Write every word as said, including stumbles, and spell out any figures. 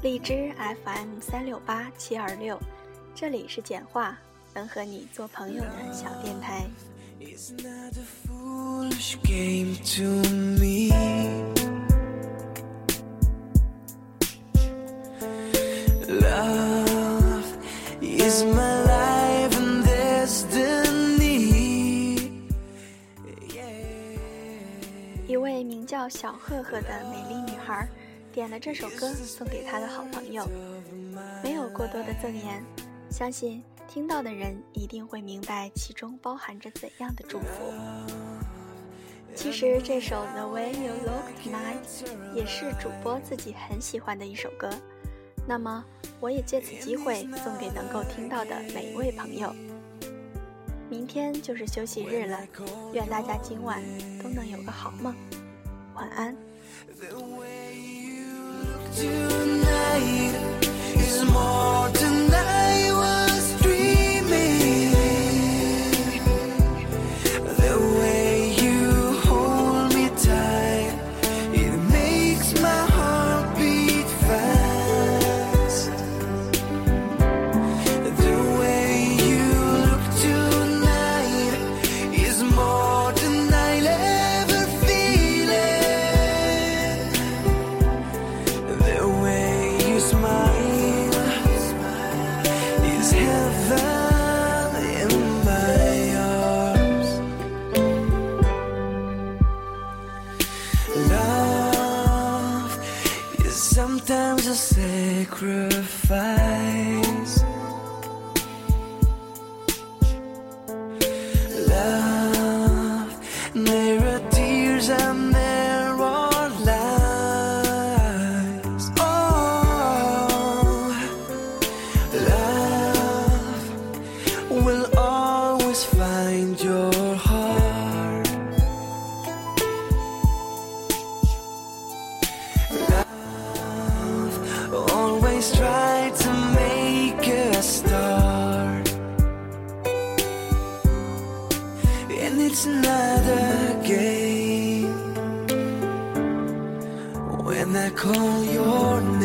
荔枝 F M 三六八七二六，这里是简话，能和你做朋友的小电台。 It's not a foolish game to me. Love is my life and destiny. Yeah. 一位名叫小赫赫的美丽女孩点了这首歌送给她的好朋友，没有过多的赠言，相信听到的人一定会明白其中包含着怎样的祝福。其实这首 The Way You Look Tonight 也是主播自己很喜欢的一首歌，那么我也借此机会送给能够听到的每一位朋友。明天就是休息日了，愿大家今晚都能有个好梦，晚安。 The way you look tonight is more than I was dreaming. The way you hold me tight, it makes my heart beat fast. The way you look tonight is more than I'll ever feel it. The way you smile is heaven in my arms. Love is sometimes a sacrifice. Love, there are tears and there are lies. Oh, love will always find your heart. Love always try to make a start, and it's not a game when I call your name.